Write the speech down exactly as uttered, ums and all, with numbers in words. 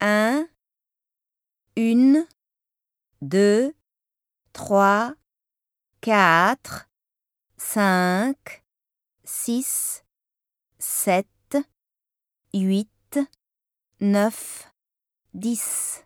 un, une, deux, trois, quatre, cinq, six, sept, huit, neuf, dix.